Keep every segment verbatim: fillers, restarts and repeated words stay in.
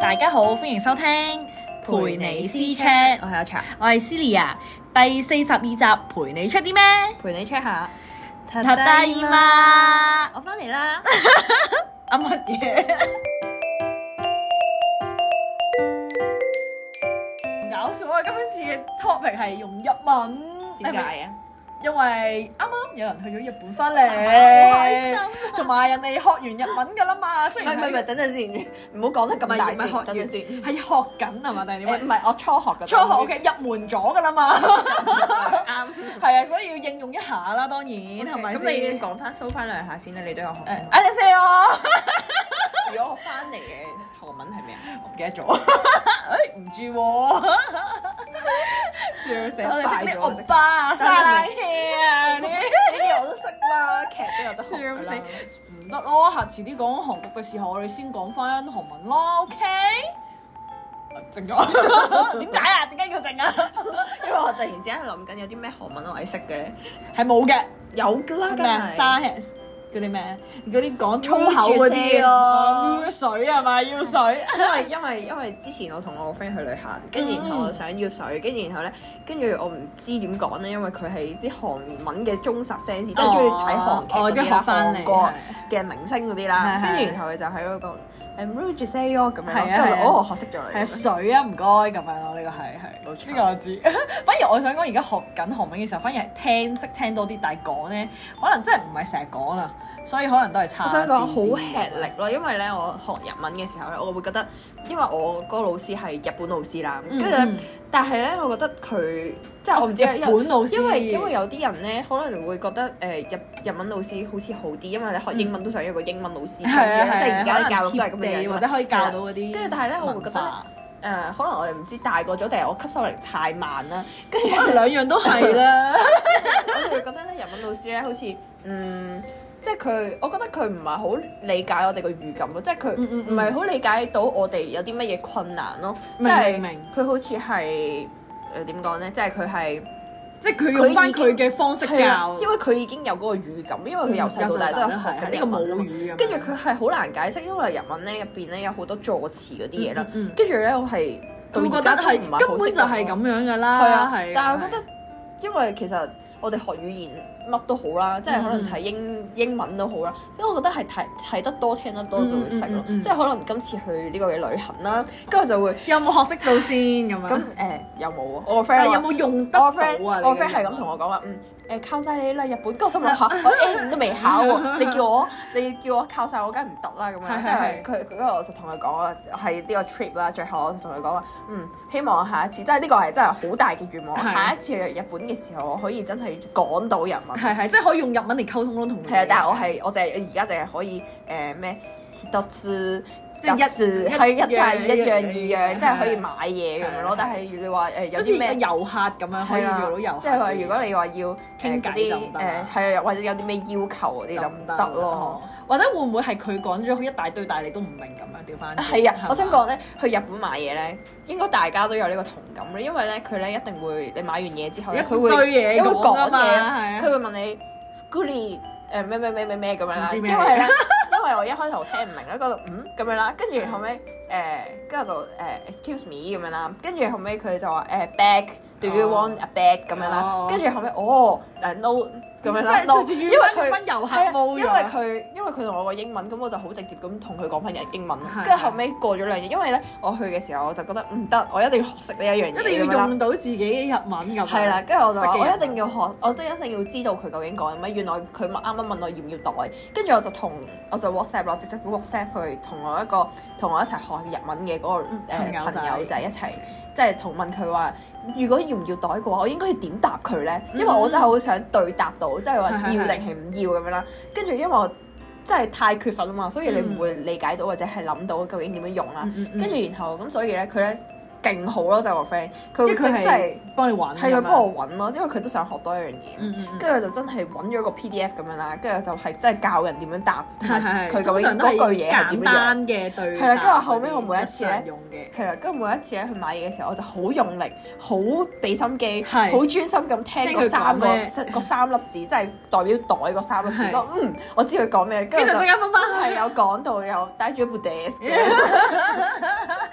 大家好，歡迎收聽陪你私 Chat， 我係阿茶， 我係 Celia，第四十二集陪你 check 啲咩？ 陪你 check 下。 ただいま，我翻嚟啦。啊乜嘢？唔搞笑啊！今次嘅 topic 係用日文， 點解啊？ 因為啱啱有人去咗日本翻嚟，同埋人哋學完日文㗎啦嘛。雖然唔係唔係，等陣先，唔好講得咁大先。等陣先， 係學緊係嘛？定係點啊？ 唔係我初學嘅。 初學 OK，入門咗㗎啦嘛。 啱。係啊，所以要應用一下啦，當然係咪先？ 咁你講翻收翻兩下先啦，你都有學。 誒，啊你死我！ 如果我翻嚟嘅韓文係咩啊？ 我唔記得咗。誒唔知喎。笑死！我哋識啲歐巴啊、沙拉氣啊呢啲我都識啦，劇都有得學笑死！唔得咯，下次啲講韓國嘅時候，我哋先講翻韓文咯 ，OK？ 靜咗。點解啊？點解要靜啊？ 因為我突然之間諗緊有啲咩韓文我係識嘅咧， 係冇嘅， 有㗎啦， 咩啊？沙氣嗰啲咩？嗰啲講粗口嗰啲咯，要水係咪？要水。 因為因為因為之前我同我個 friend 去旅行，跟住然後我想要水，跟住然後咧，跟住我唔知點講咧，因為佢係啲韓文嘅忠實 fans，即係中意睇韓劇嗰啲啦，韓國嘅明星嗰啲啦，跟住然後佢就喺嗰個誒 Rouge say 咁樣，跟住我學識咗你。 係水啊，唔該咁樣咯，呢個係係，呢個我知。反而我想講而家學緊韓文嘅時候，反而係聽識聽多啲，但係講咧，可能真係唔係成日講啊。所以可能都係差。我想講好吃力咯，因為咧我學日文嘅時候咧，我會覺得，因為我嗰個老師係日本老師啦，跟住咧，但係咧，我覺得佢即係我唔知日本老師， 因為因為有啲人咧可能會覺得誒日日文老師好似好啲，因為你學英文都想要個英文老師，即係而家啲教育都係咁樣， 或者可以教到嗰啲。 跟住但係咧，我會覺得誒，可能我哋唔知大個咗定係我吸收力太慢啦，跟住可能兩樣都係啦。 我就會覺得咧，日文老師咧好似嗯。即係佢，我覺得佢唔係好理解我哋個語感咯，即係佢唔係好理解到我哋有啲乜嘢困難咯。即係佢好似係誒點講咧？即係佢係即係佢用翻佢嘅方式教， 因為佢已經有嗰個語感，因為佢由細到大都有學緊呢個母語。跟住佢係好難解釋，因為日文咧入邊咧有好多助詞嗰啲嘢啦。跟住咧我係佢覺得係根本就係咁樣㗎啦。 係啊，係。但係我覺得，因為其實我哋學語言乜都好啦，即係可能睇英英文都好啦，因為我覺得係睇睇得多聽得多就會識咯，即係可能今次去呢個嘅旅行啦，跟住就會有冇學識到先咁樣？ 咁誒有冇啊？我個 friend 有冇用得到啊？ 我個 friend 我個 friend 係咁同我講話，嗯。誒靠晒你啦，日本！跟住我心諗下，我 A 五都未考喎，你叫我你叫我靠晒我，梗係唔得啦咁樣。即係佢，跟住我就同佢講話係呢個 trip 啦。最後我就同佢講話，嗯，希望下一次，即係呢個係真係好大嘅願望。下一次去日本嘅時候，我可以真係講到日文。 係係，即係可以用日文嚟溝通咯，同佢。 係啊，但係我係我就係而家淨係可以誒咩一つ。即係一字係一係一樣二樣，即係可以買嘢咁樣咯。但係如你話誒有啲咩遊客咁樣可以做到遊客， 即係話如果你話要傾偈就唔得。 誒係啊，或者有啲咩要求嗰啲就唔得咯。 或者會唔會係佢講咗一大堆，但係你都唔明咁樣調翻？ 係啊，我想講咧，去日本買嘢咧，應該大家都有呢個同感咧，因為咧佢咧一定會你買完嘢之後咧，佢會嘢會講啊嘛， 佢會問你 Goody 誒咩咩咩咩咩咁樣啦，因為咧。因為我一開頭聽唔明咧，嗰度嗯咁樣啦，跟住後尾誒，跟住就誒 excuse me 咁樣啦，跟住後尾佢就話誒 bag，do you want a bag 咁樣啦，跟住後尾哦誒 no 咁樣啦，因為佢分遊客冇， 因為佢因為佢同我個英文，咁我就好直接咁同佢講翻日英文，跟住後尾過咗兩日，因為咧我去嘅時候我就覺得唔得，我一定要學識呢一樣嘢， 一定要用到自己嘅日文咁。 係啦，跟住我就話我一定要學，我都一定要知道佢究竟講乜。原來佢啱啱問我要唔要袋，跟住我就同我就 WhatsApp 咯，直接 WhatsApp 去同我一個同我一齊學日文嘅嗰個誒朋友仔一齊，即係同問佢話，如果要唔要袋嘅話，我應該要點答佢咧？因為我真係好想對答到，即係話要定係唔要咁樣啦。跟住因為我真係太缺乏啊嘛，所以你唔會理解到或者係諗到究竟點樣用啦。跟住然後咁，所以咧佢咧。勁好咯，就個 friend，佢佢真係幫你揾， 係佢幫我揾咯，因為佢都想學多一樣嘢，跟住就真係揾咗個 P D F 咁樣啦，跟住就係真係教人點樣答，佢究竟嗰句嘢係點樣。簡單嘅對答。係啦，跟住後尾我每一次咧，係啦，跟住每一次咧去買嘢嘅時候，我就好用力，好俾心機，好專心咁聽嗰三個嗰三粒字，即係代表袋嗰三粒字。嗯，我知佢講咩，跟住就即刻分翻係有講到有帶住一部 desk。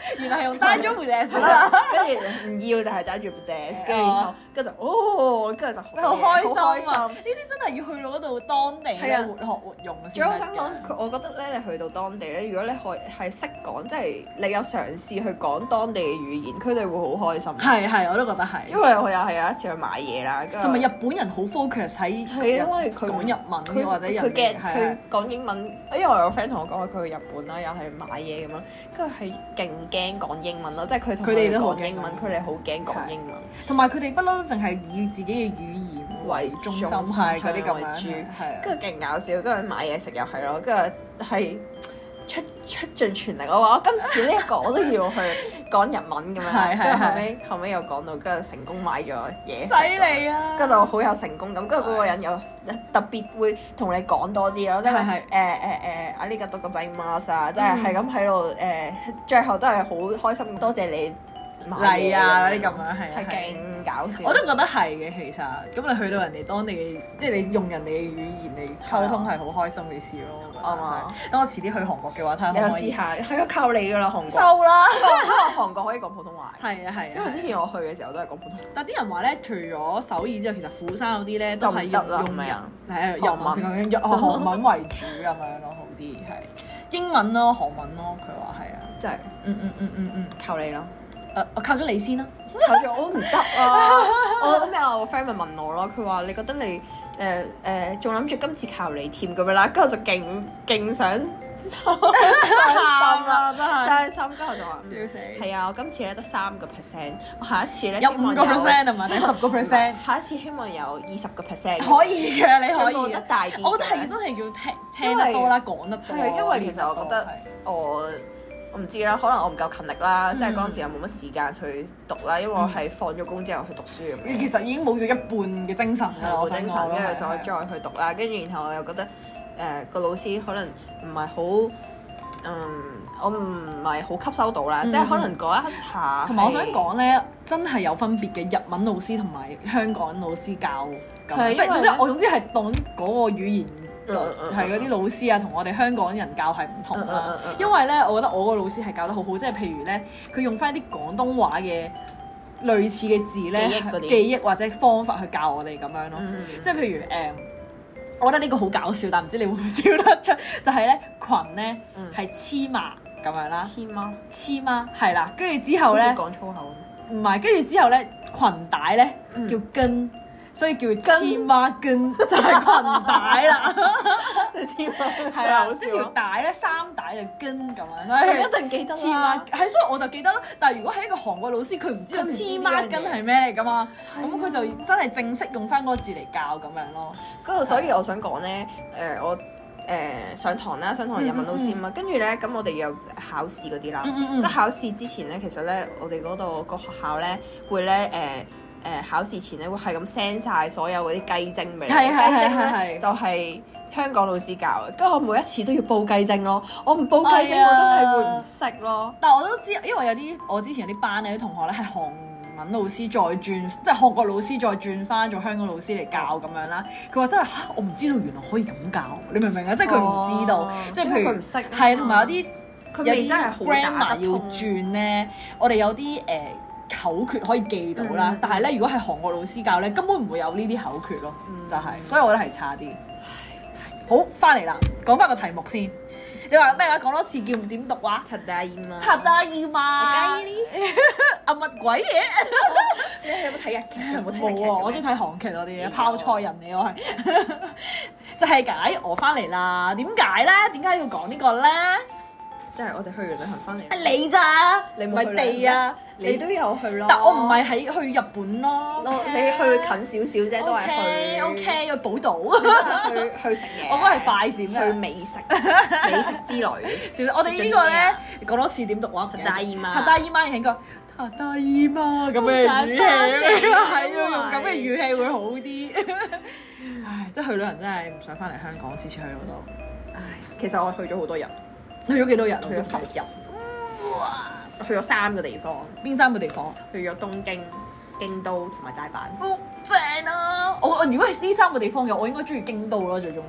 原來係用單咗部 desk 啦， 跟住唔要就係揸住部 desk，跟住然後跟住就哦，跟住就好開好心啊！呢啲真係要去到嗰度當地咧活學活用先得嘅。 仲有我想講，佢我覺得咧，你去到當地咧，如果你可係識講，即係你有嘗試去講當地嘅語言，佢哋會好開心。 係係，我都覺得係。 因為我又係有一次去買嘢啦， 同埋日本人好 focus 喺因為佢講日文， 佢或者人佢驚係佢講英文，因為我有個 friend 同我講佢去日本啦，又係買嘢咁樣，跟住係勁驚講英文咯，即係佢同佢哋講英文，佢哋好驚講英文， 同埋佢哋不嬲都淨係以自己嘅語言為中心，係嗰啲咁樣，係跟住勁搞笑，跟住買嘢食又係咯，跟住係出出盡全力，我話我今次呢一個我都要去講日文咁樣，跟住後尾後尾又講到，跟住成功買咗嘢， 犀利啊！ 跟住就好有成功感，跟住嗰個人又特別會同你講多啲咯，即係誒誒誒啊呢個多個仔媽啊，即係係咁喺度誒，最後都係好開心，多謝你嚟啊嗰啲咁樣係係勁搞笑， 我都覺得係嘅其實，咁你去到人哋當地嘅，即係你用人哋嘅語言嚟溝通係好開心嘅事咯，我覺得。啱啊！等我遲啲去韓國嘅話，睇下可唔可以。 試下，係啊，靠你噶啦，韓國。 收啦！ 因為韓國可以講普通話。 係啊係啊。 因為之前我去嘅時候都係講普通話。 但啲人話咧，除咗首爾之後，其實釜山嗰啲咧都係用用人係啊日文先講，韓文為主咁樣咯，好啲係。英文咯，韓文咯，佢話係啊。 真係。 嗯嗯嗯嗯嗯， 靠你咯。 誒，我靠咗你先啦。 靠住我都唔得啊！我咩啊？我 friend 咪問我咯，佢話你覺得你誒誒仲諗住今次靠你添咁樣啦，跟住我就勁勁想傷心啦，真係傷心。跟住我就話笑死。 係啊，我今次咧得三個 percent， 我下一次咧有五個 percent 係嘛？定十個 percent？ 下一次希望有二十個 percent。 可以嘅，你可以。 得大啲。 我覺得係真係要聽聽得多啦，講得多。 係因為其實我覺得我。我唔知啦，可能我唔夠勤力啦，嗯、即係嗰陣時又冇乜時間去讀啦，因為我係放咗工之後去讀書咁樣。 其實已經冇咗一半嘅精神啦， 冇精神，跟住再再去讀啦，跟住然後我又覺得誒個、呃、老師可能唔係好，嗯，我唔係好吸收到啦，嗯、即係可能嗰一下。同埋我想講咧，真係有分別嘅日文老師同埋香港老師教咁，即係總之我總之係當嗰個語言。係嗰啲老師啊，同我哋香港人教係唔同啦。因為咧，我覺得我個老師係教得好好，即係譬如咧，佢用翻啲廣東話嘅類似嘅字咧，記憶，記憶或者方法去教我哋咁樣咯。嗯、即係譬如誒、呃，我覺得呢個好搞笑，但唔知你會唔會笑得出？就係、是、咧，裙咧係黐麻咁樣啦。黐麻黐麻係啦，跟住之後咧講粗口。 唔係，跟住之後咧，裙帶咧叫跟。所以叫黐孖筋就係裙帶啦， 黐孖係啦，一條帶咧三帶就跟咁樣，所以一定記得啦。係，所以我就記得啦。但係如果係一個韓國老師，佢唔知道黐孖筋係咩嚟㗎嘛，咁佢就真係正式用翻嗰個字嚟教咁樣咯。 嗰度所以我想講咧，誒我誒上堂啦，上堂日文老師嘛，跟住咧咁我哋有考試嗰啲啦。咁考試之前咧，其實咧我哋嗰度個學校咧會咧誒。誒、呃、考試前咧會係咁 send 曬所有嗰啲雞精俾你， 係係係係係， 就係香港老師教嘅。跟住我每一次都要報雞精咯，我唔報雞精、哎、呀我真係會唔識咯。 但係我都知，因為有啲我之前有啲班咧啲同學咧係韓文老師再轉，即係韓國老師再轉翻做香港老師嚟教咁樣啦。佢話真係我唔知道原來可以咁教，你明唔明啊？即係佢唔知道，哦、即係譬如佢唔識， 係同埋有啲有啲真係好 grammar 要轉咧，我哋有啲誒。呃口訣可以記到啦，嗯、但係咧，如果係韓國老師教咧，根本唔會有呢啲口訣咯，嗯、就係、是，所以我覺得係差啲。好，翻嚟啦，講翻個題目先。你話咩話？講多次叫點讀話？塔達伊嘛。塔達伊嘛。啊乜鬼嘢？ 你有冇睇日劇？有冇睇日劇？ 冇啊！我中意睇韓劇多啲嘅，泡菜人嚟我係。就係解我翻嚟啦。點解咧？點解要講呢個咧？ 即係我哋去完旅行翻嚟。 係你咋？你唔係地啊？ 你都有去咯。 但我唔係喺去日本咯。 你去近少少啫，都係去。 O K，去寶島。 去去食嘢。 我覺得係快閃嘅。 去美食，美食之旅。 其實我哋呢個咧講多次點讀話？塔達伊媽。塔達伊媽應該塔達伊媽咁嘅語氣，係要用咁嘅語氣會好啲。唉，即係去旅行真係唔想翻嚟香港，次次去嗰度。 唉，其實我去咗好多日。 去咗幾多日？ 去咗十日。哇！去咗三個地方。 邊三個地方？ 去咗東京、京都同埋大阪。 好正啊！我我如果係呢三個地方嘅，我應該中意京都咯，最中意。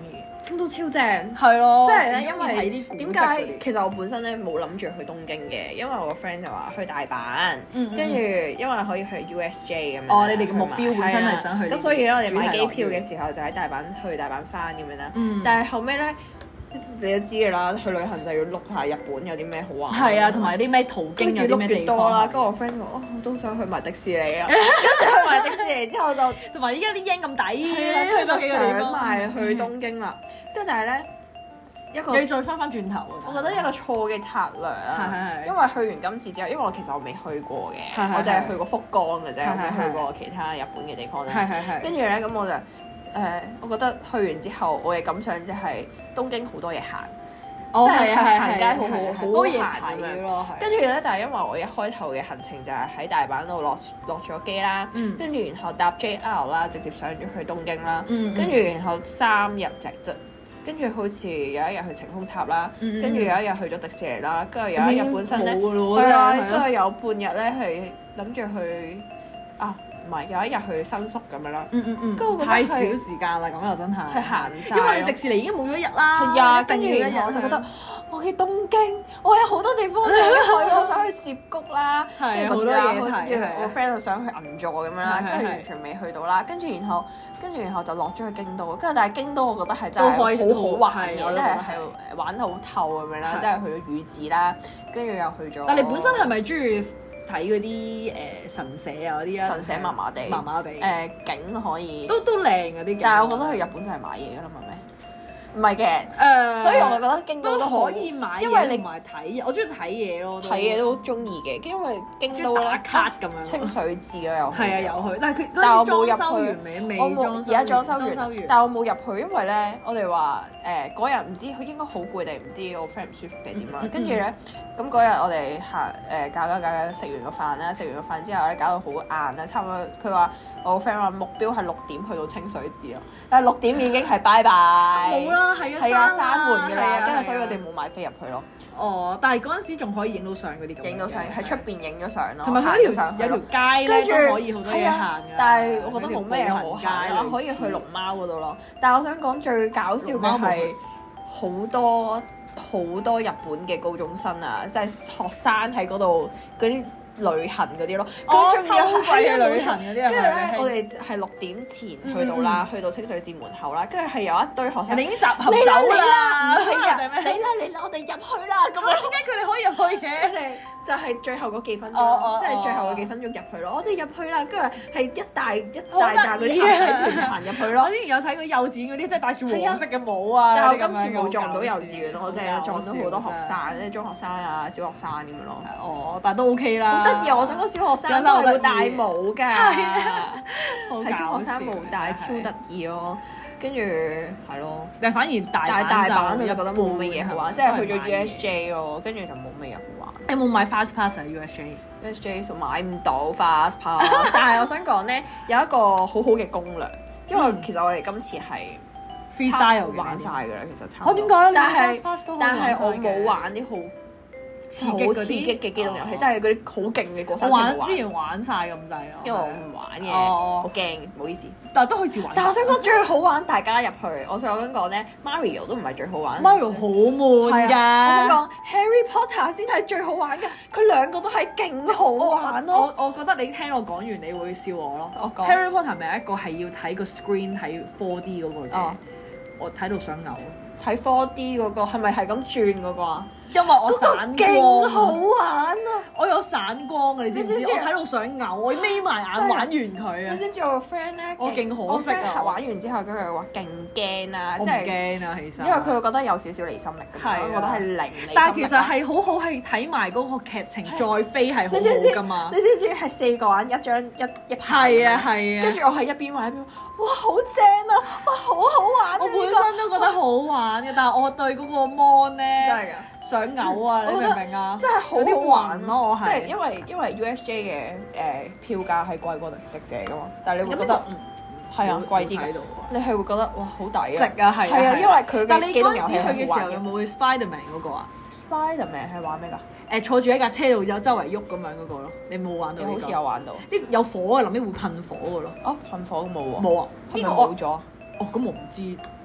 京都超正。 係咯， 即係咧，因睇為啲古蹟點嗰啲解其實我本身咧冇諗住去東京嘅，因為我個 friend 就話去大阪， 嗯嗯跟住因為可以去 U S J 咁樣。 哦你哋嘅目標本身係想去呢啲咁所以咧我哋買機主題樂園票嘅時候就喺大阪去大阪翻咁樣啦。 嗯但係後尾咧，你都知㗎啦，去旅行就要碌下日本有啲咩好玩。 係啊，同埋啲咩途經有啲咩地方啦。跟住我 friend 話：哦，我都想去埋迪士尼啊！跟住去埋迪士尼之後就同埋依家啲 yen 咁抵， 係啦，跟住就去幾個地想方埋去東京啦。跟住但係咧一個。 你再翻翻轉頭啊！ 我覺得一個錯嘅策略啊， 係係係因為去完今次之後，因為我其實我未去過嘅， 係係係我淨係去過福岡嘅啫， 係係我未係去過其他日本嘅地方咧。 係係係跟住咧，咁我就誒、呃，我覺得去完之後，我嘅感想就係東京好多嘢行， 哦即係係係行街好好好多嘢行咁樣睇咯，係。 跟住咧，但係因為我一開頭嘅行程就係喺大阪度落落咗機啦， 嗯跟住然後搭 J R 啦，直接上咗去東京啦， 嗯嗯跟住然後三日就得。跟住好似有一日去晴空塔啦， 嗯嗯跟住有一日去咗迪士尼啦，跟住有一日本身咧， 冇㗎咯係啊， 真係跟住有半日咧係諗住去啊，唔係有一日去新宿咁樣啦， 嗯嗯嗯， 跟住我覺得太少係時間啦，咁又真係。 係行晒因為你迪士尼已經冇咗一日啦。 係啊， 一定跟住然要一日後我就覺得我嘅東京，我有好多地方想去，我想去涉谷啦， 係跟住好多嘢睇跟住係我 friend 就想去銀座咁樣啦， 係係係跟住完全未去到啦，跟住然後跟住然後就落咗去京都，跟住但係京都我覺得係真都可以係好好玩嘅， 係我都即係覺得係係玩得好透咁樣啦， 係即係去咗宇治啦，跟住又去咗。 但你本身係咪中意睇嗰啲誒神社啊嗰啲啊？ 神社麻麻地， 麻麻地。 誒景可以， 都都靚嗰啲景。 但係我覺得去日本就係買嘢㗎啦，唔係咩？唔係嘅， 誒， 所以我覺得京都都都好可以買嘢， 因為你同埋睇嘢，我中意睇嘢咯。 睇嘢都中意嘅，因為京都咧中意打卡咁樣。 清水寺啊又係啊，有去，但係佢但係我嗰陣時冇入去裝修完未？未我冇裝修而家裝修裝修完，但係我冇入去，因為咧我哋話誒嗰日唔知佢應該好攰定唔知我 friend 唔舒服定點樣， 嗯嗯跟住咧咁嗰日我哋行誒搞搞搞搞食完個飯啦，食完個飯之後咧搞到好晏啦，差唔多佢話我個 friend 話目標係六點去到清水寺咯，但係六點已經係拜拜， 冇啦，係啊， 係啊， 閂閂門㗎啦，跟住所以係啊我哋冇買飛入去咯， 哦，但係嗰陣時仲可以影到相嗰啲咁樣嘅。 影到相喺出邊影咗相咯， 同埋佢嗰條行咗上去有條咯街咧跟住都可以好多嘢係啊行㗎。 但係我覺得冇咩好嗰條步行行街啦，可以去龍貓嗰度咯。但係我想講最搞笑龍貓冇嘅係去好多好多日本嘅高中生啊，即係學生喺嗰度嗰啲旅行嗰啲咯。 哦佢仲要秋季嘅旅行嗰啲係咪跟住咧係， 我哋係六點前去到啦，去到清水寺門口啦，跟住係有一堆學生人哋已經集合嚟啦嚟走啦， 啦，唔係啊， 定咩嚟啦嚟啦，我哋入去啦咁樣。 點解佢哋可以入去嘅？ 佢哋就係最後嗰幾分鐘哦哦咯，即係最後嗰幾分鐘入去咯。我哋入去啦，跟住係一大一大紮嗰啲好得意啊男仔團行入去我咯。 之前有睇過幼稚園嗰啲，即係戴住黃色嘅帽啊。 但係我嗰啲咁樣今次冇撞到幼稚園咯， 好我淨係撞到好多學搞笑生，即係中學生啊、小學生咁樣咯。 哦，但係都 OK 啦。 好得意啊！我想講小學生都係會戴帽㗎， 係啊，好係中學生搞笑冇戴，超得意咯。跟住係咯， 但係反而大但係大阪我就就覺得冇乜嘢好玩，即係去咗 U S J 咯，跟住就冇乜嘢好玩。 有冇買 fast pass 啊 U S J？ U S J 就買唔到 fast pass，但係我想講咧有一個好好嘅攻略，因為其實我哋今次係 freestyle 嘅玩晒㗎啦，其實差我點解？ 但係 fast pass 都可以但係我玩晒嘅冇玩啲好刺激嗰啲好刺激嘅機動遊戲， 哦即係嗰啲好勁嘅過我山車冇玩之前玩晒咁滯咯， 因為我唔玩嘅， 哦好驚，唔好意思。 但係都可以自玩。 但係我想講最好玩，大家入去，我想講咧，Mario 都唔係最好玩。 Mario 好悶係㗎， 啊我想講 Harry Potter 先係最好玩嘅，佢兩個都係勁好玩咯。 我我覺得你聽我講完，你會笑我咯。 我講 Harry Potter 咪有一個係要睇個 screen 睇 four D 嗰個嘅哦， 我睇到想嘔， 睇 four D 嗰個係咪係咁轉嗰個啊？ 因為我嗰個散勁好光， 玩啊！ 我有散光啊！你知唔知？ 你知唔知我睇到想嘔，我眯埋眼玩完佢你啊！ 知唔知我個 friend 咧？ 我勁可惜啊我 friend 玩完之後，跟住話勁驚啊！ 我唔即係驚啊，其實因為佢會覺得有少少離心力咁係啊樣，我覺得係零離心力啦。 但係其實係好好，係睇埋嗰個劇情再飛係好你知唔知好㗎嘛你。知唔知係四個人一張一一排？ 係啊係啊， 跟住我係一邊玩一邊，哇好正啊！哇好好玩啊！ 我本呢個身都覺得好玩嘅，但係我對嗰個 mon 咧真係㗎。 想嘔啊！你明唔明啊？ 真係好有啲好玩暈咯，我即係係因為因為 U S J 嘅誒票價係貴過迪迪姐噶嘛，但係你會覺咁得嗯係啊貴啲嘅， 喺度你係會覺得哇好抵值啊！ 啊係係啊，因為佢但係你嘅機動嗰陣時去遊戲係嘅時候有好玩嘅。 冇去 Spiderman 嗰個啊？ Spiderman 係玩咩㗎？ 誒坐住喺架車度有周圍喐咁樣嗰個咯，你冇玩到呢個？ 好似有玩到。 呢有火嘅，臨尾會噴火嘅咯。 哦，噴火冇喎。 冇啊？ 係咪呢個我冇咗？ 哦咁我唔知，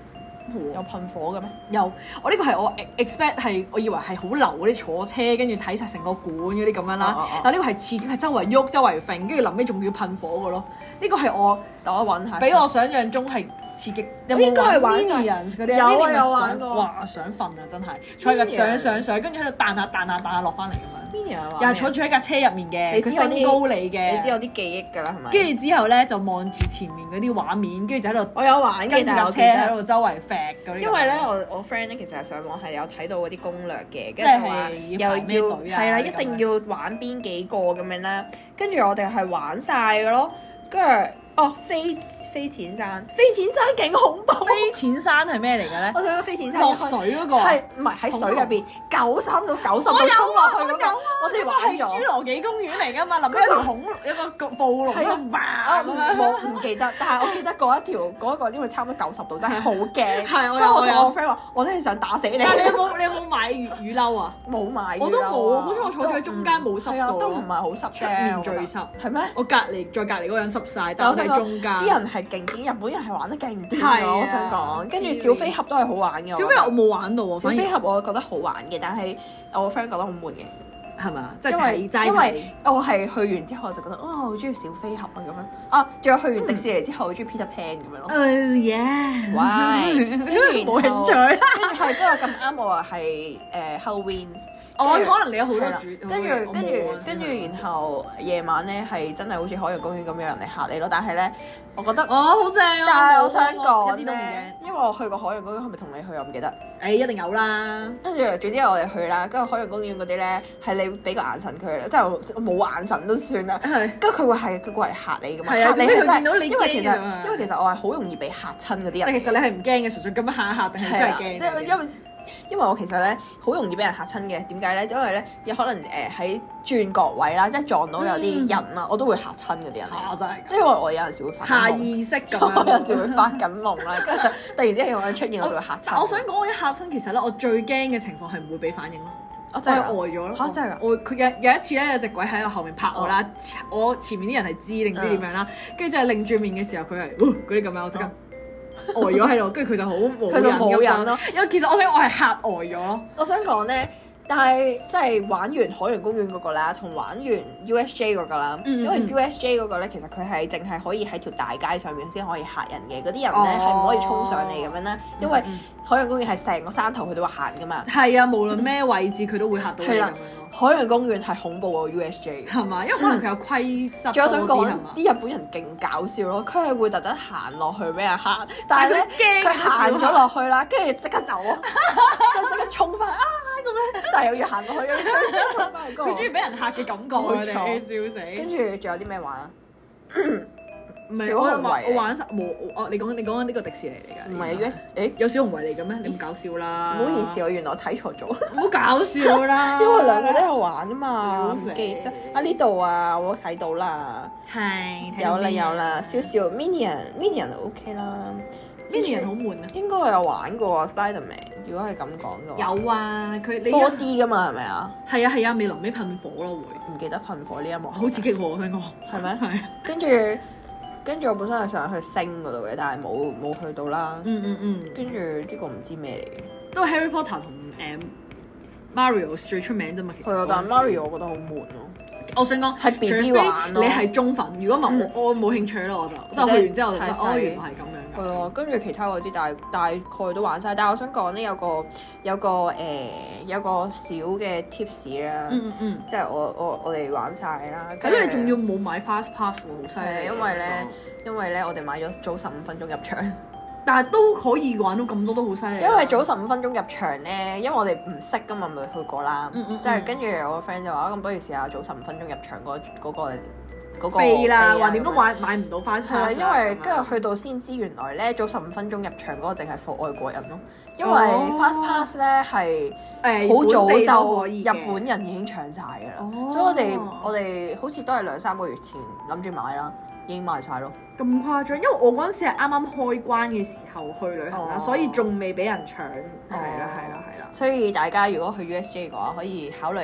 有噴火嘅咩？ 有，我呢個係我 expect 係，我以為係好流嗰啲坐車，跟住睇晒成個館嗰啲咁樣啦。 哦哦哦但呢個係刺激，係周圍喐、周圍揈，跟住臨尾仲要噴火嘅咯。呢個係我等我揾下。 比我想象中係刺激。有冇應該係玩晒 Minions 嗰啲有啊 Minions 有玩想過哇想瞓啊！真係坐喺架上上上，跟住喺度彈下彈下彈下落翻嚟咁樣。 Minion 又係坐住喺架車入面嘅，佢你知我啲升高你嘅。 你知有啲記憶㗎啦，係咪？ 跟住之後咧就望住前面嗰啲畫面，跟住就喺度我有玩嘅， 跟住架車但係我記得喺度周圍揈嗰啲。 因為咧，我我 friend 咧其實係上網係有睇到嗰啲攻略嘅，跟係住話要排咩又要隊啊係啦， 嗰啲一定要玩邊幾個咁樣啦。跟住我哋係玩晒嘅咯，跟住哦飛飛淺山，飛淺山勁恐怖。 飛淺山係咩嚟嘅咧？ 我睇到飛淺山落水嗰個啊係唔係喺水入邊九三到九十度衝落去嗰個？我哋玩係侏咗。 羅紀公園嚟㗎嘛，臨尾有條恐有個暴龍喺度啊唔爆咁樣。 冇唔記得，但係我記得嗰一條嗰一個，因為差唔多九十度，真係好驚。 係我有跟住我我有同我 friend 話，我真係想打死你。 但係你有冇你有冇買雨雨褸啊？ 冇買㗎啦？ 我都冇，好彩我坐咗喺中間冇濕到係啊都唔係好濕出嘅面最濕。 係咩？ 我隔離再隔離嗰個人濕晒，但我喺中間。 啲人係勁癲，日本人係玩得勁癲係啊啊！我想講，跟住小飛俠都係好玩嘅。 小飛俠我冇玩到喎， 小反而飛俠我覺得好玩嘅，但係我個 friend 覺得好悶嘅， 係咪啊？即係因為睇齋睇因為我係去完之後就覺得啊，好中意小飛俠啊咁樣啊，仲有去完迪士尼之後好中意 Peter Pan 咁樣咯。 Oh yeah！ Why？跟住冇興趣。 跟住係都有咁啱我話係誒 Halloween。 我可能你有好多係啦主， 跟住跟住跟住，然後夜晚咧係真係好似海洋公園咁有人嚟嚇你咯。但係咧，我覺得， 哦好正啊！ 但係我想講一啲都唔咧， 驚。 因為我去過海洋公園，係咪同你去我唔記得。 誒一定有啦。 跟住總之我哋去啦，跟住海洋公園嗰啲咧係你俾個眼神佢，即係冇眼神都算啦。 係。 跟住佢會係佢過嚟嚇你噶嘛？ 係啊嚇你係真係總之佢見到你因為其實驚啊因為其實我係好容易俾嚇親嗰啲人。 但其實你係唔驚嘅，純粹咁樣嚇一嚇定係真係驚因為因為因為我其實咧好容易俾人嚇親嘅，點解咧？因為咧有可能誒喺轉角位啦，一撞到有啲人啦，我都會嚇親嗰啲人嚟。 嚇真係即係因為我有陣時會發下緊夢， 意識咁我有陣時樣。 會發緊夢啦，跟住突然之間有個人出現，我就會嚇親。 我想講我一嚇親，其實咧我最驚嘅情況係唔會俾反應咯。我係我真係呆咗咯。 嚇真係㗎我佢有有一次咧，有隻鬼喺我後面拍我啦，我前面啲人係知定唔知點樣啦，跟住就係擰住面嘅時候，佢係嗰啲咁樣，我即刻呆咗喺度，跟住佢就好冇佢就冇癮癮咯。 因為其實我想我係嚇呆咗咯。 我想講咧，但係即係玩完海洋公園嗰個啦，同玩完 U S J 嗰個啦， 嗯嗯因為 U S J 嗰個咧，其實佢係淨係可以喺條大街上面先可以嚇人嘅，嗰啲人咧哦係唔可以衝上嚟咁樣啦，因為嗯嗯海洋公園係成個山頭佢都會行噶嘛。 係啊，無論咩位置佢都會嚇到你咁樣係啦咯， 海洋公園係恐怖過 U S J 嘅。 係嘛？因為可能佢有規則仲有想講多啲係嘛？ 啲日本人勁搞笑咯，佢係會特登行落去俾人嚇，但係咧但係佢驚佢行咗落去啦，跟住即刻走啊，跟住即刻衝翻啊咁樣，但係又要行落去，又要再衝翻去嗰個佢中意俾人嚇嘅感覺啊！ 冇錯佢哋笑死。 跟住仲有啲咩玩啊？ 唔係我小熊維玩我玩晒冇我你講你講緊呢個迪士尼嚟㗎？ 唔係啊 U S 誒， 有小熊維尼嘅咩？你咁搞笑啦！ 唔好意思，我原來我睇錯咗， 唔好搞笑啦！ 因為兩個都有玩啊嘛， 笑死唔記得啊呢度啊，我睇到啦， 係有啦有啦，少少 Minion Minion OK 啦 Minion 好悶啊！ 應該我有玩過 Spiderman，如果係咁講嘅話。 有啊，佢你 four D 噶嘛，係咪啊？ 係啊係啊，未臨尾噴火咯會， 唔記得噴火呢一幕， 好刺激喎！我想講係咩？ 係跟住跟住我本身係想去星嗰度嘅，但係冇冇去到啦。 嗯嗯嗯， 跟住呢個唔知咩嚟嘅。 都係 Harry Potter 同誒 Mario 最出名啫嘛，其實係啊，但係嗰陣時 Mario 我覺得好悶咯。 我想講係 B B 除非玩咯你係中粉，如果唔係我我冇興趣咯，我就即係去完之後我就覺得係哦原來係咁樣㗎。 係啊，跟住其他嗰啲大大概都玩晒。但係我想講咧，有個有個誒、呃、有個小嘅 tips 啦， 嗯嗯嗯， 即係我我我哋玩晒啦。 咁你仲要冇買 fast pass 喎，好犀利。 係因為咧，因為咧我哋買咗早十五分鐘入場。 但係都可以玩到咁多都好犀利。 因為早十五分鐘入場咧，因為我哋唔識噶嘛，未去過啦。 嗯嗯即係跟住我個 friend 就話：咁不如試下早十五分鐘入場嗰嗰個嗰個飛啦， 飛話點都咁樣買買唔到 fast 係啦， pass 因為跟住去到先知原來咧早十五分鐘入場嗰個淨係 for 外國人咯，因為哦 fast pass 咧係誒好早本地都就可以嘅日本人已經搶晒㗎啦， 哦所以我哋我哋好似都係兩三個月前諗住買啦，已經賣晒咯。 咁誇張，因為我嗰陣時係啱啱開關嘅時候去旅行啦， 哦所以仲未俾人搶。係啦係啦係啦。 所以大家如果去 U S J 嘅話，可以考慮下。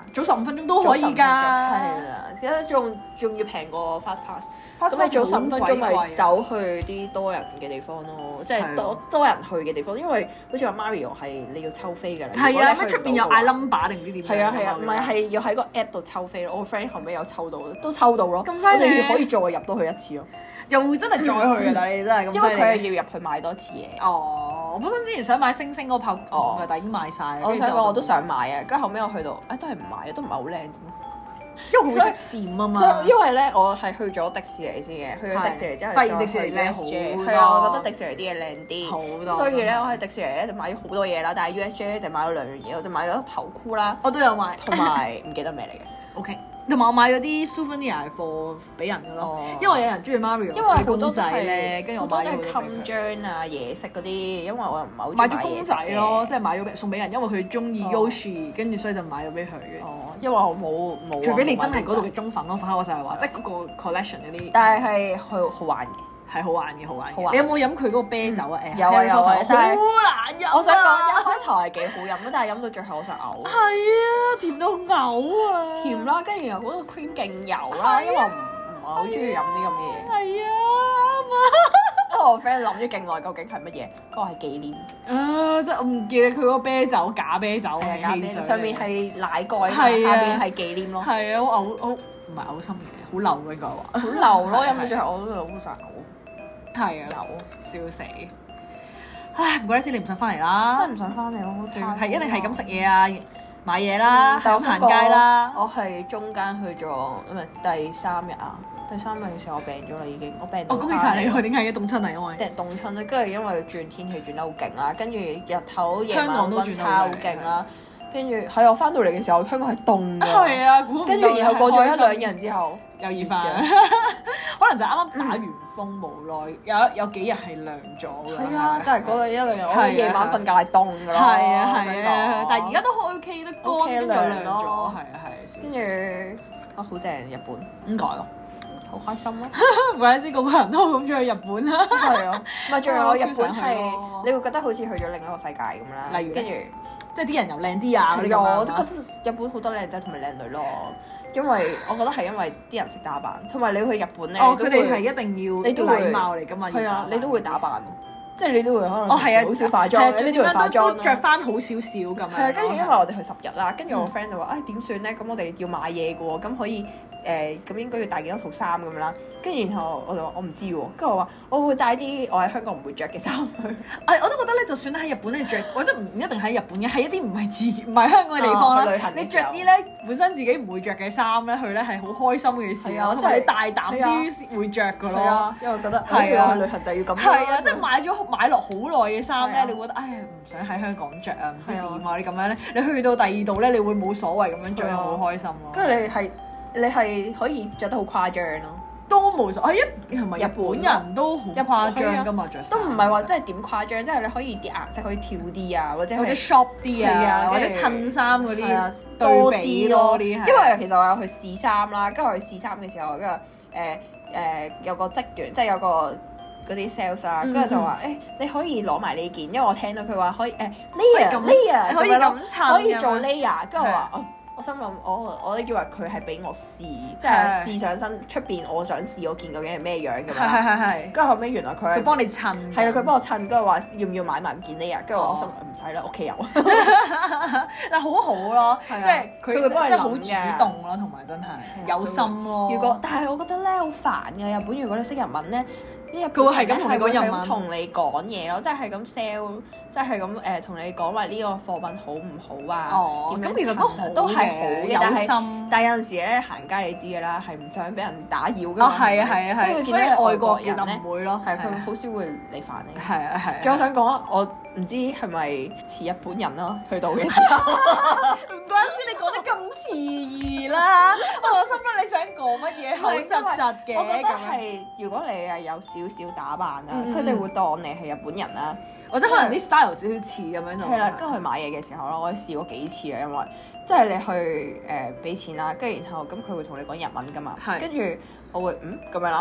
早十五分鐘都可以㗎。 係啦，而家仲仲要平過 Fast Pass。咁你早十五分鐘咪走去啲多人嘅地方咯，即係多多人去嘅地方，因為好似話 Mario 係你要抽飛㗎啦。 係啊，咩出邊有嗌 number 定唔知點？ 係啊係啊，唔係係要喺個 app 度抽飛咯。我個 friend 後尾有抽到，都抽到咯。 咁犀利！ 你可以再入到去一次咯。 又會真係再去㗎，但係你真係咁犀利。 因為佢係要入去買多次嘢。 哦，我本身之前想買星星嗰個泡筒㗎，但係已經賣晒。 我想講我都想買啊，跟住後尾我去到，誒都係唔買，都唔係好靚啫嘛。 因為好識閃啊嘛， 所以因為咧，我係去咗迪士尼先嘅，去咗迪士尼之後， 發現迪士尼靚好多， 係啊，我覺得迪士尼啲嘢靚啲， 好多。 所以咧，我喺迪士尼咧就買咗好多嘢啦，但係 U S J 咧就買咗兩樣嘢，我就買咗頭箍啦， 我都有買， 同埋唔記得咩嚟嘅。 OK，同埋我買咗啲 souvenir for 俾人嘅咯，因為有人中意 Mario， 因為好多公仔咧，跟住我買咗好多襟章啊、嘢食嗰啲，因為我又唔係好買咗公仔咯，即係買咗俾送俾人，因為佢中意 Yoshi，跟住所以就買咗俾佢嘅。 哦，因為我冇冇。 除非你真係嗰度嘅忠粉咯，所以我就係話，即係嗰個 collection 嗰啲。 但係係好好玩嘅， 係好玩嘅，好玩嘅。你有冇飲佢嗰個啤酒啊？誒， 有啊有啊， 好難飲。 我想講一開頭係幾好飲咯，但係飲到最後我想嘔。 係啊，甜到嘔啊！ 甜啦，跟住又嗰個 cream 勁油啦，因為我唔唔係好中意飲啲咁嘅嘢。 係啊，啱啊！ 因為我 friend 諗咗勁耐，究竟係乜嘢？嗰個係紀念。 啊！即係我唔記得佢嗰個啤酒假啤酒嘅假啤酒，上面係奶蓋，下係啊邊係紀念咯。 係啊，好嘔好唔係嘔心嘅，好流應該話。 好流咯，飲到最後我都好想嘔。 係啊，流笑死！唉，唔怪得知你唔想翻嚟啦， 真係唔想翻嚟咯，好似係一定係咁食嘢啊，買嘢啦， 但行街啦。 我係中間去咗，唔係第三日啊，第三日嘅時候我病咗啦已經，我病到。 哦，恭喜晒你喎！點解嘅凍親啊？因為啲人凍親啦，跟住因為轉天氣轉得好勁啦，跟住日頭夜香港晚都轉得溫差好勁啦，跟住係我翻到嚟嘅時候，香港係凍㗎。 係啊， 跟住然後過咗一兩日之後又熱翻，可能就啱啱打完風，無奈有有幾日係涼咗㗎。 係啊，真係嗰一兩日，我夜晚瞓覺係凍㗎咯。 係啊係啊，但係而家都 OK 得乾，跟住涼咗。係啊係。 跟住啊好正日本， 點解啊？ 好開心咯！ 唔怪得知個個人都咁中意日本啦。 係啊，唔係仲有日本係你會覺得好似去咗另一個世界咁啦。 例如， 跟住即係啲人又靚啲啊嗰啲咁樣。我都覺得日本好多靚仔同埋靚女咯，因為我覺得係因為啲人識打扮，同埋你去日本咧， 哦佢哋係一定要你都會禮貌嚟㗎嘛。 係啊，你都會打扮。即係你都會可能哦係啊， 好少化妝，呢啲會化妝都着翻好少少咁樣。 係啊，跟住因為我哋去十日啦，跟住我 friend 就話：唉點算咧？咁我哋要買嘢嘅喎，咁可以誒咁應該要帶幾多套衫咁樣啦。跟住然後我就話我唔知喎，跟住我話我會帶啲我喺香港唔會着嘅衫去。誒我都覺得咧，就算喺日本你着，或者唔一定喺日本嘅，喺一啲唔係自唔係香港嘅地方啦。你着啲咧本身自己唔會着嘅衫咧，去咧係好開心嘅事咯。即係你大膽啲會着㗎咯。 因為覺得係啊， 去旅行就要咁。 係啊，即係買咗買落好耐嘅衫咧，你會覺得唉唔想喺香港着啊，唔知點啊你咁樣咧，你去到第二度咧，你會冇所謂咁樣着，好開心咯。 跟住你係你係可以着得好誇張咯， 都冇所謂。一係咪日本人都好誇張㗎嘛着衫？ 都唔係話真係點誇張，即係你可以啲顏色可以跳啲啊，或者或者 shop 啲啊，或者襯衫嗰啲多啲咯。 因為其實我有去試衫啦，跟住我去試衫嘅時候，跟住誒誒有個職員，即係有個。嗰啲 sales 啊，跟住就話誒，你可以攞埋呢件，因為我聽到佢話可以誒 layer layer 可以咁襯， 可以做 layer，跟住我話哦，我心諗我我都以為佢係俾我試，即係試上身出邊我想試嗰件究竟係咩樣咁樣。 係係係。跟住後尾原來佢佢幫你襯。 係啦，佢幫我襯，跟住話要唔要買埋件 layer，跟住我心諗唔使啦，屋企有。 但好好咯，即係佢會幫你即係好主動咯，同埋真係有心咯。 如果但係我覺得咧好煩嘅日本，如果你識日文咧。 佢會係咁同你講日文， 同你講嘢咯，即係咁 sell，即係咁誒同你講話呢個貨品好唔好啊？ 哦，咁其實都好， 都係好嘅， 有心。 但係有陣時咧行街你知㗎啦，係唔想俾人打擾㗎嘛。 啊係啊係啊係，所以外國人咧唔會咯， 係佢好少會嚟煩你。 係啊係。 仲有想講，我唔知係咪似日本人咯，去到嘅時候。 唔怪之你講得咁遲疑啦，我心諗你想講乜嘢口窒窒嘅。 我覺得係如果你係有少少打扮啦，佢哋會當你係日本人啦， 或者可能啲 style 少少似咁樣就係啦。跟住去買嘢嘅時候咯，我試過幾次啊，因為即係你去誒俾錢啦，跟住然後咁佢會同你講日文噶嘛，跟住我會嗯咁樣啦，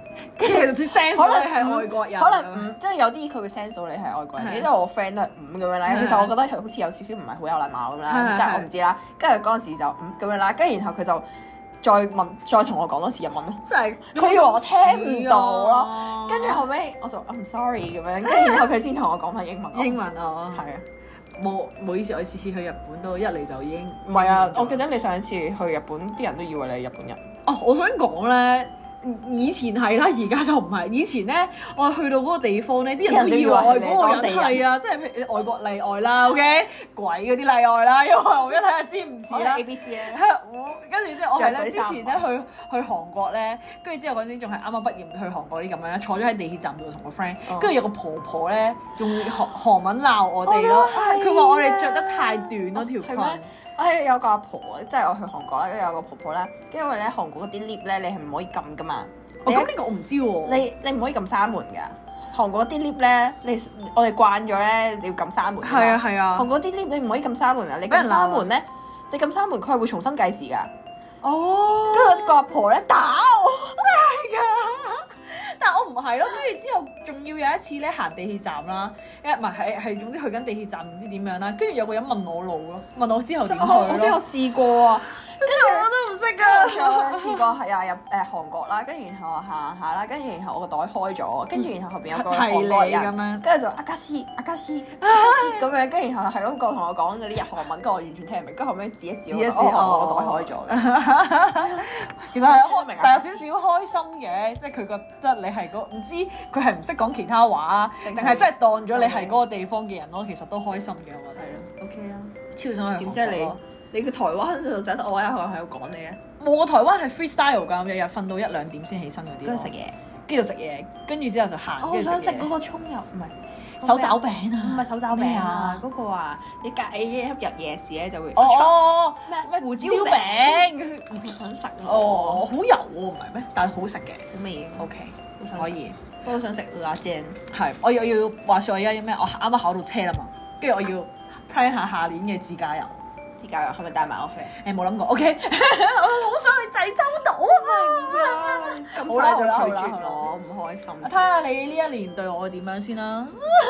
跟住佢就 sense 到你係外國人， 可能五，即係有啲佢會 sense 到你係外國人，因為我 friend 都係五咁樣啦。其實我覺得佢好似有少少唔係好有禮貌咁啦，但係我唔知啦。跟住嗰陣時就五咁樣啦，跟住然後佢就再問，再同我講多次日文咯。 真係佢以為我聽唔到咯。跟住後尾我就 I'm sorry 咁樣，跟住然後佢先同我講翻英文。 英文啊， 係啊。 冇冇意思，我次次去日本都一嚟就已經唔係啊！我記得你上一次去日本，啲人都以為你係日本人。 哦，我想講咧，以前係啦，而家就唔係。以前咧，我去到嗰個地方咧，啲人都以為我係嗰個人係啊，即係譬如外國例外啦 ，OK， 鬼嗰啲例外啦，因為我一睇下知唔似啦。 A B C 咧， 係我跟住之後我係咧之前咧去去韓國咧，跟住之後嗰陣仲係啱啱畢業去韓國啲咁樣咧，坐咗喺地鐵站度同個 friend，跟住有個婆婆咧用韓韓文鬧我哋咯，佢話我哋着得太短咯條裙。 誒有個阿婆，即係我去韓國啦，跟住有個婆婆咧，因為咧韓國嗰啲 lift 咧，你係唔可以撳噶嘛。 哦，咁呢個我唔知喎。 你你唔可以撳閂門㗎。韓國啲 lift 咧，你我哋慣咗咧，你要撳閂門。 係啊係啊。 韓國啲 lift 你唔可以撳閂門啊！你撳閂門咧，你撳閂門佢係會重新計時㗎。 哦。 跟住個阿婆咧打我， 真係㗎。但係我唔係咯，跟住之後仲要有一次咧行地鐵站啦，誒唔係係係總之去緊地鐵站唔知點樣啦，跟住有個人問我路咯，問我之後點去咯。 我都有試過啊， 跟住我都唔識㗎。 試過係啊入誒韓國啦，跟住然後行下啦，跟住然後我個袋開咗，跟住然後後邊有個韓國人咁樣，跟住就阿加斯阿加斯阿加斯咁樣，跟住然後係咁個同我講嗰啲日韓文，跟住我完全聽唔明，跟住後尾指一指我，我個袋開咗嘅。 其實係開明，但有少少開心嘅，即係佢覺得你係嗰唔知佢係唔識講其他話啊，定係真係當咗你係嗰個地方嘅人咯，其實都開心嘅，我覺得。 OK 啊， 超想去。 點知你你個台灣度就得我一個喺度講你咧？ 冇，我台灣係 freestyle 㗎，日日瞓到一兩點先起身嗰啲。 跟住食嘢， 跟住食嘢，跟住之後就行。 我想食嗰個葱油，唔係手抓餅啊！ 唔係手抓餅啊！嗰個啊，你隔你一入夜市咧就會哦哦咩咩胡椒餅， 我想食哦，好油喎，唔係咩？但係好食嘅， 好味嘅。 OK，可以。 我好想食辣醬。 係，我要要話説我而家咩？我啱啱考到車啦嘛，跟住我要 plan 下下年嘅自駕遊。 自駕遊係咪帶埋我去？ 誒冇諗過 ，OK，我好想去濟州島啊！ 咁快就拒絕我，唔開心。 睇下你呢一年對我點樣先啦。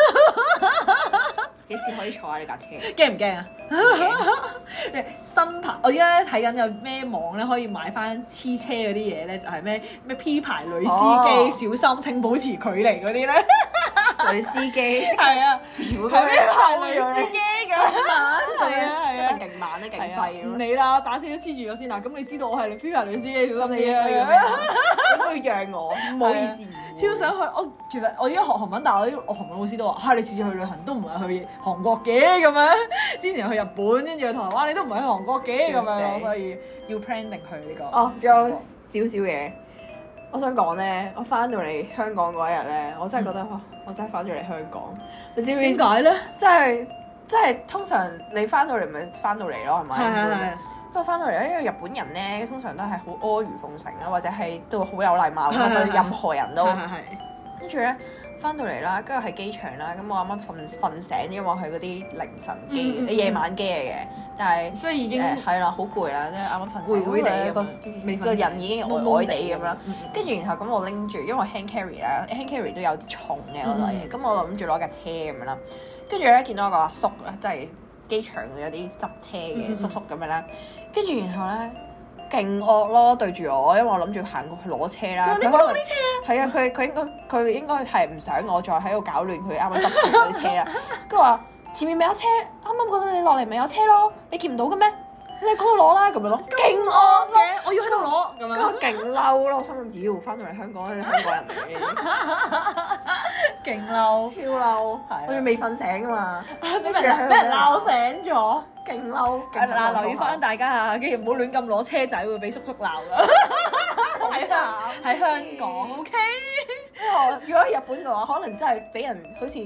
幾時可以坐下呢架車？ 驚唔驚啊？新牌，我而家咧睇緊有咩網咧可以買翻黐車嗰啲嘢咧，就係咩咩 P 牌女司機，哦、小心請保持距離嗰啲咧。 女司機係啊， 係咩牌女司機咁慢？係啊係啊， 一定勁慢咧，勁廢唔理啦，打死都黐住咗先啦。咁你知道我係你 P 牌女司機，小心啲啊！ 應該讓我，唔好意思。 超想去，我其實我而家學韓文，但係我啲我韓文老師都話：嚇、啊、你次次去旅行都唔係去韓國嘅咁樣，之前去日本，跟住去台灣，你都唔係去韓國嘅咁樣，所以要 plan 定去呢個。 哦，仲有少少嘢，我想講咧，我翻到嚟香港嗰一日咧，我真係覺得哇、嗯，我真係翻咗嚟香港。你知唔知點解咧？即係即係通常你翻到嚟咪翻到嚟咯，係咪？係係係。都翻到嚟咧，因為日本人咧通常都係好阿諛奉承啦，或者係都好有禮貌咁對任何人都。跟住咧翻到嚟啦，跟住喺機場啦，咁我啱啱瞓瞓醒，因為我係嗰啲凌晨機、嗯、夜晚機嚟嘅，但係即係已經係啦， 好攰啦，即係啱啱瞓攰攰地個個人已經呆呆地咁啦。跟住然後咁我拎住，因為 hand carry 啦，hand carry 都有重嘅嗰類嘢，咁、嗯、我諗住攞架車咁樣啦。跟住咧見到一個阿叔咧，即係機場有啲執車嘅叔叔咁樣啦。跟住然後咧，勁惡咯對住我，因為我諗住行過去攞車啦。 你攞啲車啊？ 係啊，佢佢應該佢應該係唔想我再喺度搞亂佢啱啱執住嗰啲車啦。跟住話前面咪有車，啱啱覺得你落嚟咪有車咯，你見唔到嘅咩？你喺嗰度攞啦咁樣咯，勁惡咯！ 我要喺度攞咁樣。 跟住勁嬲咯，我心諗妖翻到嚟香港係香港人嚟嘅，勁嬲，超嬲，我仲未瞓醒噶嘛，跟住俾人鬧醒咗。勁嬲！ 嗱，留意翻大家啊，跟住唔好亂咁攞車仔，會俾叔叔鬧噶。喺喺香港 ，OK。 因為如果喺日本嘅話，可能真係俾人好似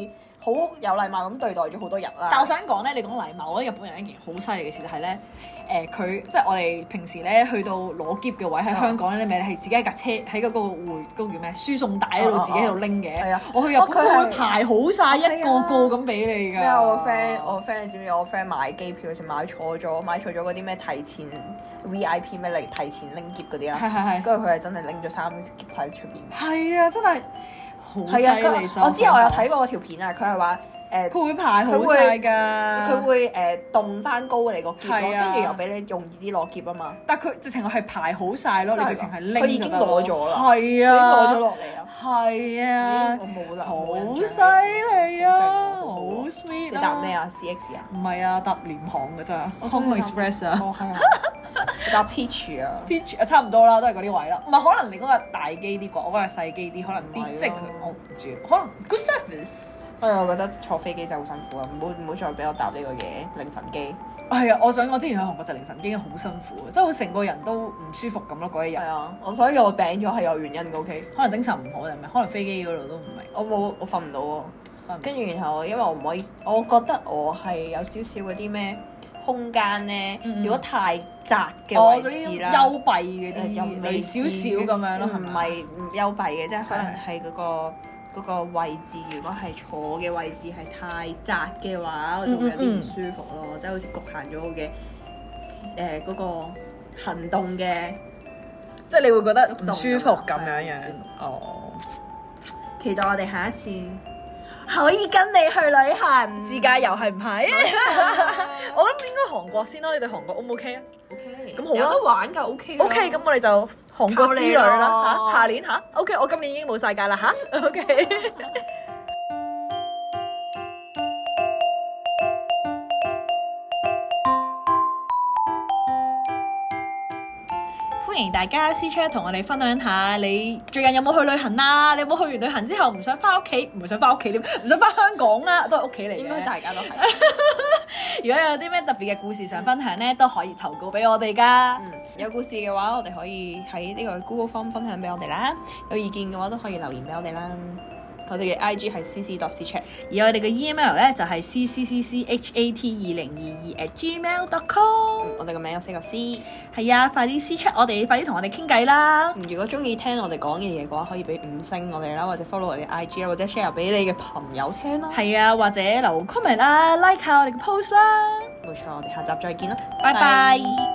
好有禮貌咁對待咗好多人啦。 但我想講咧，你講禮貌，我覺得日本人一件好犀利嘅事就係咧，誒佢即係我哋平時咧去到攞篋嘅位喺香港咧，你咪係自己喺架車喺嗰個回嗰個叫咩輸送帶嗰度自己喺度拎嘅。係啊，我去日本佢會排好晒一個個咁俾你㗎。 咩啊？我個 friend 我個 friend 你知唔知？我 friend 買機票嗰時買錯咗，買錯咗嗰啲咩提前 V I P 咩嚟提前拎篋嗰啲啦。 係係係。 跟住佢係真係拎咗三個篋喺出邊。 係啊，真係好犀利！ 我之前我有睇過嗰條片啊，佢係話。誒佢會排好晒㗎， 佢會誒凍翻高你個篋咯，跟住又俾你容易啲攞篋啊嘛。 但係佢直情係排好晒咯，你直情係拎佢已經攞咗啦， 係啊， 攞咗落嚟啊， 係啊， 我冇啦， 好犀利啊，好 sweet 啊！ 你搭咩啊 ？C X 啊？ 唔係啊，搭廉航㗎咋 ，Hong Express 啊。 哦，係啊。你搭 Peach 啊 ？Peach 啊，差唔多啦，都係嗰啲位啦。唔係可能你嗰個大機啲啩，我嗰個細機啲，可能啲即係佢我唔知，可能 good service。 不過我覺得坐飛機真係好辛苦啊！唔好唔好再俾我搭呢個嘢凌晨機。 係啊，我想我之前去韓國就凌晨機好辛苦啊，即係我成個人都唔舒服咁咯嗰一日。 係啊，我所以我病咗係有原因嘅 OK。 可能精神唔好定咩？可能飛機嗰度都唔係。 我冇我瞓唔到喎，跟住然後因為我唔可以，我覺得我係有少少嗰啲咩空間咧，嗯、如果太窄嘅位置啦， 幽閉嗰啲，又微少少咁樣咯， 唔係唔幽閉嘅，即係可能係嗰、嗰個。嗰個位置，如果係坐嘅位置係太窄嘅話，我就會有啲唔舒服咯，嗯嗯、即係好似局限咗我嘅誒嗰個行動嘅， 即係你會覺得唔舒服咁樣樣。哦， 期待我哋下一次可以跟你去旅行自駕遊係唔係？我諗應該韓國先咯，你對韓國 O 唔 OK 啊 ？OK， 咁好有得玩㗎 OK。 OK，咁我哋就韓國之旅啦嚇，下年嚇 OK，我今年已經冇晒假啦嚇 OK。歡迎大家私 chat 同我哋分享下你最近有冇去旅行啊？你有冇去完旅行之後唔想翻屋企，唔想翻屋企點？唔想翻香港啊？都係屋企嚟嘅。 應該大家都係。 如果有啲咩特別嘅故事想分享咧，都可以投稿俾我哋噶。 嗯，有故事嘅話，我哋可以喺呢個 Google Form 分享俾我哋啦。有意見嘅話，都可以留言俾我哋啦。我哋嘅 I G 係 c c dot c chat， 而我哋嘅 email 咧就係 c c c c h a t 二零二二 at gmail dot com。 我哋個名有四個 C。 係啊，快啲私 chat我哋，快啲同我哋傾偈啦！ 如果中意聽我哋講嘅嘢嘅話，可以俾五星我哋啦，或者 follow 我哋 I G 啦，或者 share 俾你嘅朋友聽啦。 係啊，或者留 comment 啦，like 下我哋嘅 post 啦。 冇錯，我哋下集再見啦， 拜拜。